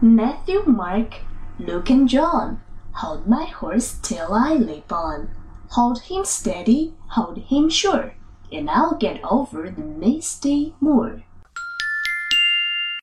Matthew, Mark, Luke, and John. Hold my horse till I leap on. Hold him steady, hold him sure, and I'll get over the misty moor.